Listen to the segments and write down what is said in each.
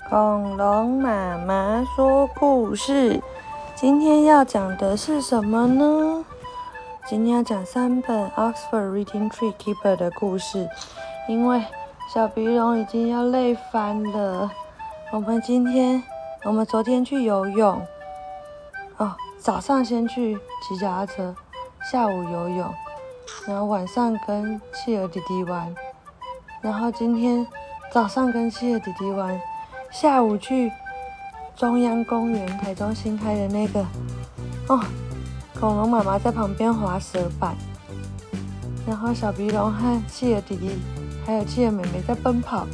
恐龙妈妈说故事，今天要讲的是什么呢？今天要讲3本 Oxford Reading Tree Keeper 的故事，因为小鼻龙已经要累翻了。我们昨天去游泳，早上先去骑脚踏车，下午游泳，然后晚上跟企鹅弟弟玩，然后今天早上跟企鹅弟弟玩，下午去中央公园，台中新开的那个，恐龙妈妈在旁边滑蛇板，然后小鼻龙和企鹅弟弟还有企鹅妹妹在奔跑，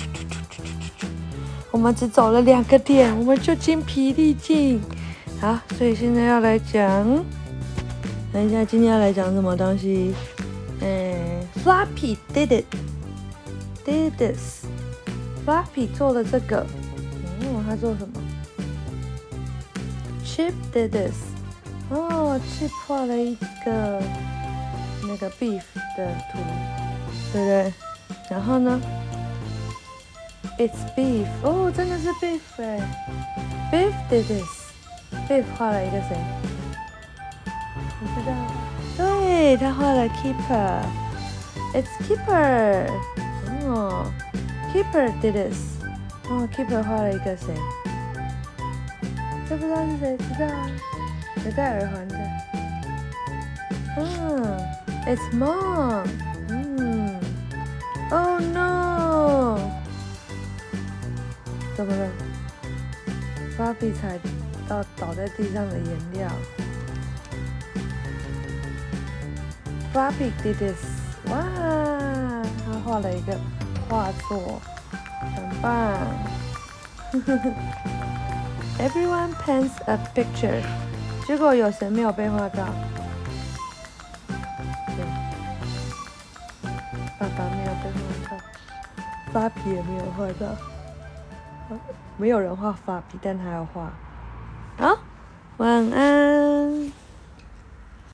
我们只走了2个点，我们就精疲力尽。好，所以现在要来讲，等一下今天要来讲什么东西？Floppy did this。Floppy 做了这个，他做什么 ？Chip did this。Chip 画了一个那个 beef 的图，对不对？然后呢 ？It's beef。真的是 beef 哎。Beef did this。Beef 画了一个谁？你知道？对，他画了 Keeper。It's Keeper。Keeper did this。Keeper 画了一个谁？这不知道是谁？知道啊？有戴耳环的。It's Mom。Oh no！ 怎么了？Floppy 踩到倒在地上的颜料。Floppy did this。哇，他画了一个画作，很棒。Everyone paints a picture。结果有谁没有被画到？对，爸爸没有被画到 ，Floppy 也没有画到。没有人画Floppy，但他要画。好，晚安。